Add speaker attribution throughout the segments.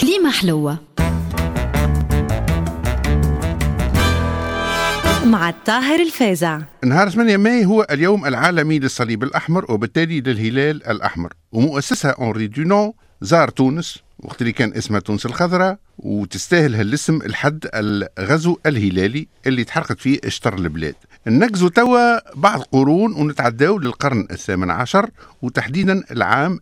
Speaker 1: كليمة حلوة مع الطاهر الفازع.
Speaker 2: نهار 8 ماي هو اليوم العالمي للصليب الأحمر وبالتالي للهلال الأحمر، ومؤسسها أنري دونون زار تونس وقت اللي كان اسمها تونس الخضراء، وتستاهل هالاسم الحد الغزو الهلالي اللي تحرقت فيه اشطر البلاد. ننقزوا توا بعض قرون ونتعداو للقرن الثامن عشر، وتحديدا العام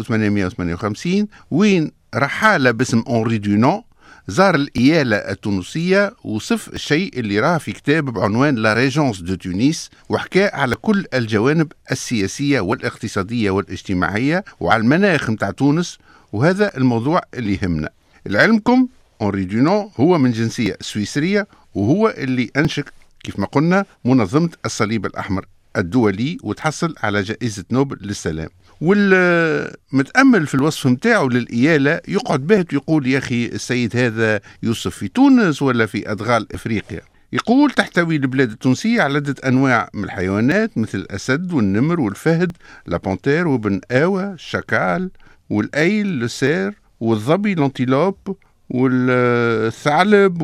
Speaker 2: 1858 وين رحالة باسم أنري دونون زار الإيالة التونسية وصف الشيء اللي راه في كتاب بعنوان لا ريجونس دو تونس، وحكى على كل الجوانب السياسية والاقتصادية والاجتماعية وعلى المناخ متاع تونس، وهذا الموضوع اللي يهمنا. لعلمكم أنري دونون هو من جنسية سويسرية، وهو اللي أنشئ كيف ما قلنا منظمة الصليب الأحمر الدولي وتحصل على جائزة نوبل للسلام. والمتأمل في الوصف متاعه للإيالة يقعد باهت يقول يا أخي السيد هذا يوصف في تونس ولا في أدغال إفريقيا؟ يقول تحتوي البلاد التونسية على عدة أنواع من الحيوانات مثل الأسد والنمر والفهد، لابونتير وبن آوى، الشكال والأيل، السير والظبي، لانتيلوب والثعلب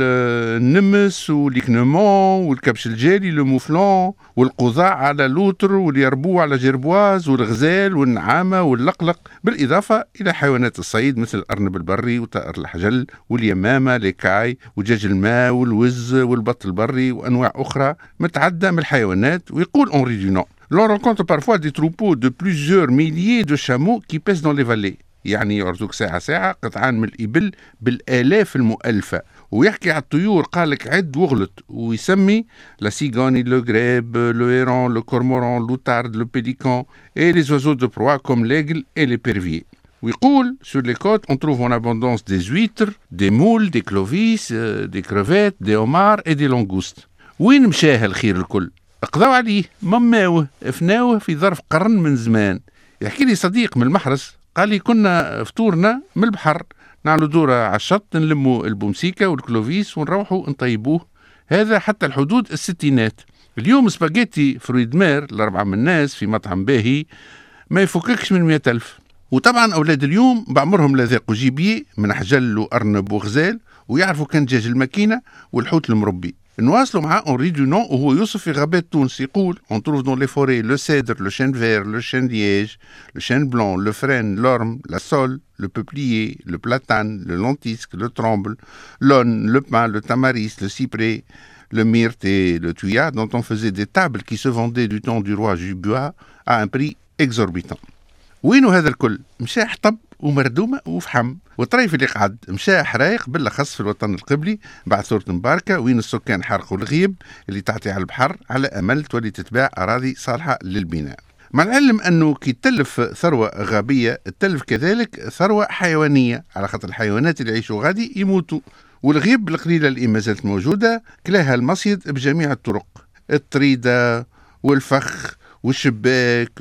Speaker 2: والنمس والإكنمون والكبش الجالي لموفلون والقضاع على لوتر واليربوع على جربواز والغزال والنعامة واللقلق، بالإضافة إلى حيوانات الصيد مثل الأرنب البري وطائر الحجل واليمامة ليكاي ودجاج الماء والوز والبط البري وأنواع أخرى متعدة من الحيوانات. ويقول أنري دونون l'on rencontre parfois des troupeaux de plusieurs milliers de chameaux qui pèsent dans les vallées، يعني يعرضوك ساعة قطعان من الإبل بالآلاف المؤلفة. ويحكي على الطيور قالك عد وغلط، ويسمي لا سيغوني، لو غريب، لو هيرون، لو كورموران، لو تارد، لو بيليكان et les oiseaux de proie comme l'aigle et les perviers. ويقول sur les côtes on trouve en abondance des huîtres, des moules, des clovis, des crevettes, des homards et des langoustes. وين مشاه الخير الكل؟ اقضوا عليه، مماوه، افناوه في ظرف قرن من زمان. يحكي لي صديق من المحرس قال لي كنا فطورنا من البحر نعملوا دورة على الشط نلموا البومسيكا والكلوفيس ونروحوا نطيبوه، هذا حتى الحدود الستينات. اليوم سباجيتي فرويد مير ل4 من الناس في مطعم باهي ما يفككش من 100,000. وطبعا أولاد اليوم بعمرهم لا ذاقوا جيبيه من حجل وأرنب وغزال، ويعرفوا كان دجاج الماكينة والحوت المربي. نواصلوا مع أنري دونون وهو يوصف في غابات تونس، يقول on trouve dans les forêts le cèdre, le chêne vert, le chêne liège, le chêne blanc, le frêne, l'orme, la saule, le peuplier, le platane, le lentisque, le tremble, l'aune, le pin, le tamaris, le cyprès, le myrte et le thuya, dont on faisait des tables qui se vendaient du temps du roi Jubois à un prix exorbitant. وينو هذا الكل؟ مشى حطب ومردومة وفحم، والطريف اللي قعد مشى حرايق بالأخص في الوطن القبلي بعد ثورة مباركة، وين السكان حرقوا الغيب اللي تعطي على البحر على أمل تولي تتباع أراضي صالحة للبناء. مع العلم أنه كي تلف ثروة غابية تلف كذلك ثروة حيوانية، على خاطر الحيوانات اللي يعيشوا غادي يموتوا، والغيب القليلة اللي ما زالت موجودة كلاها المصيد بجميع الطرق، الطريدة والفخ والشباك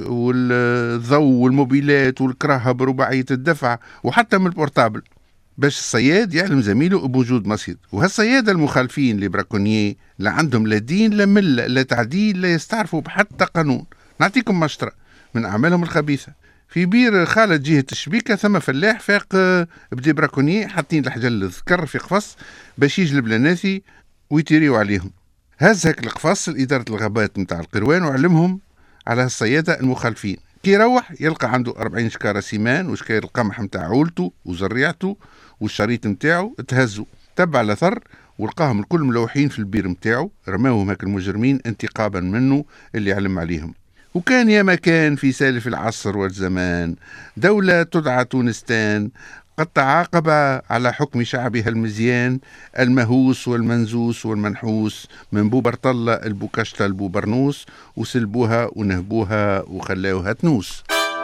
Speaker 2: والضوء والموبيلات والكراهة برباعية الدفع وحتى من البورتابل، باش الصياد يعلم زميله بوجود مصيد. وهالصيادة المخالفين لبراكونيي لا عندهم لا دين لا ملة لا تعديل لا يستعرفوا بحتى قانون. نعطيكم مشترى من أعمالهم الخبيثة. في بير خالد جهة الشبيكة ثم فلاح فاق بدي براكونيي حاطين الحجل الذكر في قفص باش يجلب لناسي ويتيريوا عليهم. هز هاك القفص لإدارة الغابات متاع القروان وعلمهم على الصيادة المخالفين. كي يروح يلقى عنده 40 شكارة سيمان وشكاير القمح متاع عولته وزريعته والشريط متاعه تهزوا. تبع لثر ولقاهم الكل ملوحين في البير متاعه، رماوهم هاك المجرمين انتقابا منه اللي علم عليهم. وكان يا مكان في سالف العصر والزمان دولة تدعى تونستان قد تعاقب على حكم شعبها المزيان المهوس والمنزوس والمنحوس من بوبرطلة البوكشتة البوبرنوس، وسلبوها ونهبوها وخلاوها تنوس.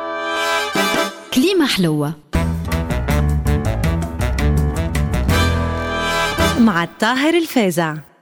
Speaker 1: كليمة حلوة مع الطاهر الفازع.